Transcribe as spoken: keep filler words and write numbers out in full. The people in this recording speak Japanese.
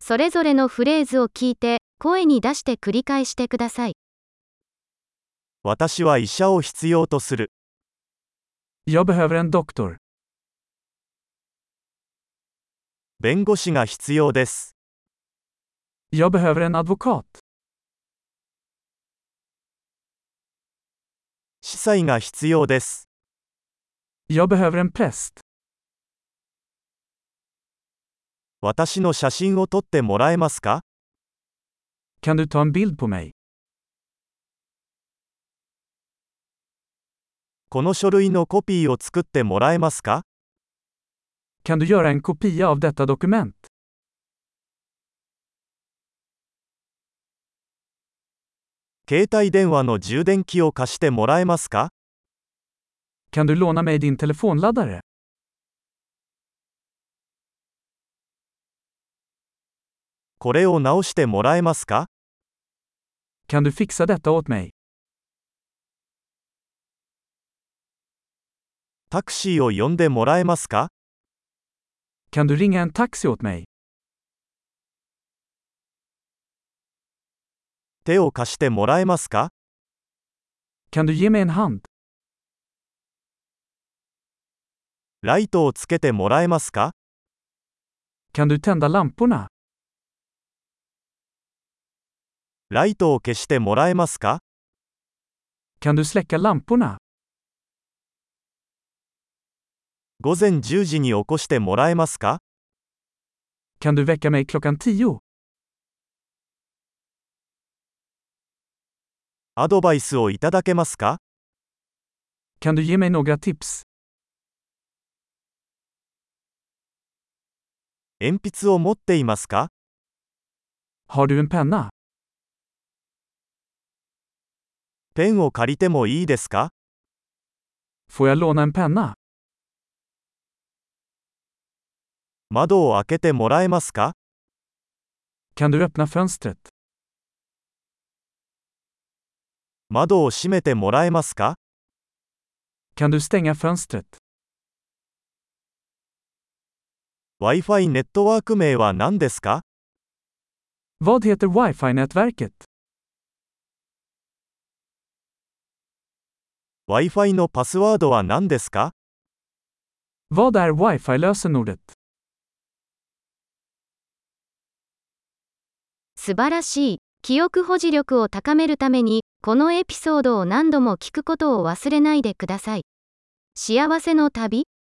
それぞれのフレーズを聞いて、声に出して繰り返してください。 私は医者を必要とする。 Jag behöver en doktor. 弁護士が必要です。 Jag behöver en advokat. 司祭が必要です。 Jag behöver en präst. 私の写真を撮ってもらえますか？ Kan du ta en bild på mig? この書類のコピーを作ってもらえますか？ Kan du göra en kopia av detta dokument? 携帯電話の充電器を貸してもらえますか？ Kan du låna mig din telefonladdare? これを直してもらえますか？ Kan du fixa detta åt mig? タクシーを呼んでもらえますか？ Kan du ringa en taxi åt mig? 手を貸してもらえますか？ Kan du ge mig en hand? ライトをつけてもらえますか？ Kan du tända lamporna? ライトを消してもらえますか？ Kan du släcka lamporna? 午前じゅうじに起こしてもらえますか？ Kan du väcka mig klockan tio? アドバイスをいただけますか？ Kan du ge mig några tips? 鉛筆を持っていますか？ Har du en penna? ペンを借りてもいいですか？ Får jag låna en penna? 窓を開けてもらえますか？ Kan du öppna fönstret? 窓を閉めてもらえますか？ Kan du stänga fönstret? Wi-Fi ネットワーク名は何ですか？ Vad heter Wi-Fi-nätverket? Wi-Fi のパスワードは何ですか？ Vad är Wi-Fi-lösenordet? 素晴らしい。記憶保持力を高めるために、このエピソードを何度も聞くことを忘れないでください。幸せの旅